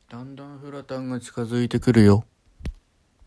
だんだんフラタンが近づいてくるよ。